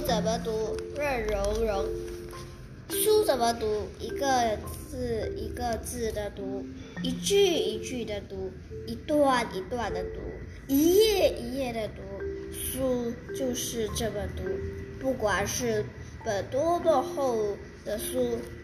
怎么读？润融融。书怎么读？一个字一个字的读，一句一句的读，一段一段的读，一页一页的读。书就是这么读，不管是本多么厚的书，